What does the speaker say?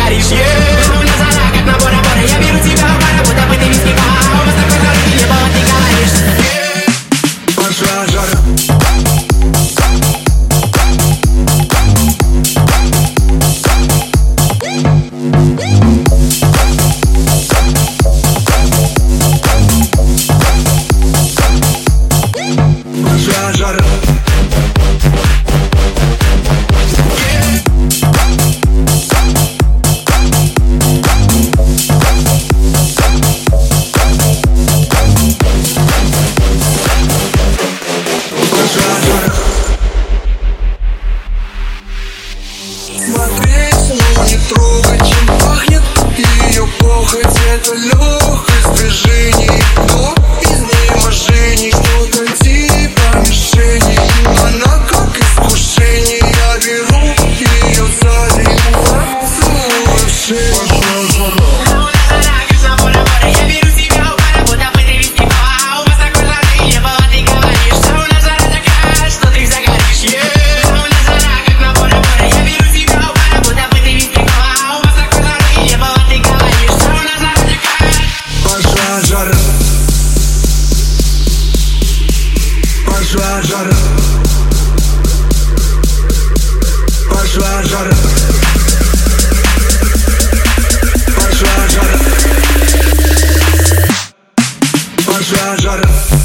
горишь. У меня жара, как на Бора-Бора. Я беру тебя в пара, будто бы ты виски пара. У вас такой жаркий небо, ты говоришь. Пошла жара. Пошла жара. Смотреть, но не трогать, чем пахнет ее похоть. Это легкость движений, но изнеможений. Что-то типа мишени, она как искушение. Я беру ее сзади, целую в шею. Пошла жара. Пошла жара. Пошла жара. Пошла жара. Пошла жара.